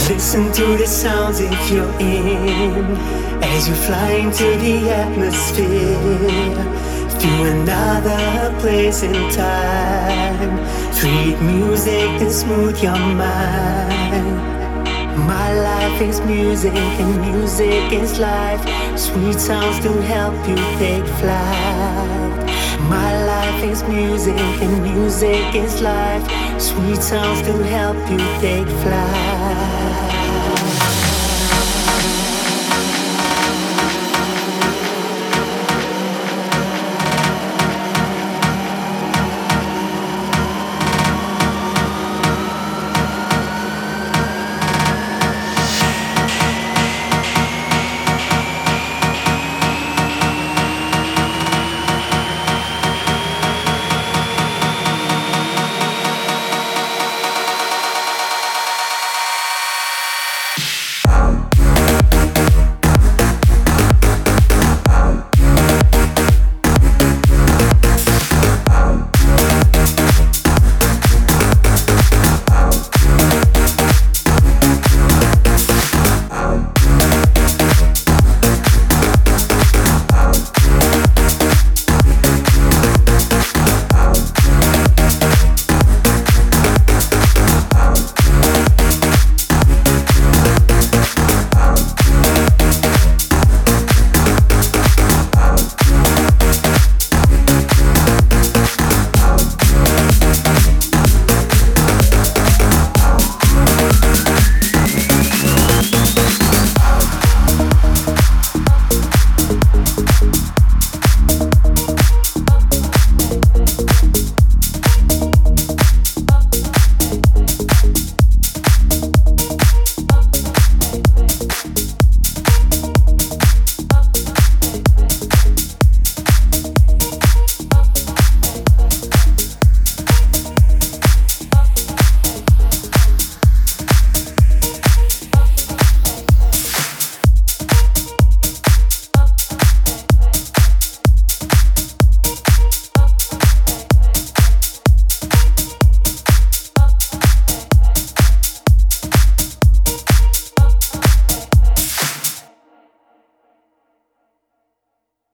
Listen to the sounds if you're in, as you fly into the atmosphere, through another place and time. Treat music to smooth your mind. My life is music and music is life. Sweet sounds to help you take flight. My life is music and music is life. Sweet sounds to help you take flight.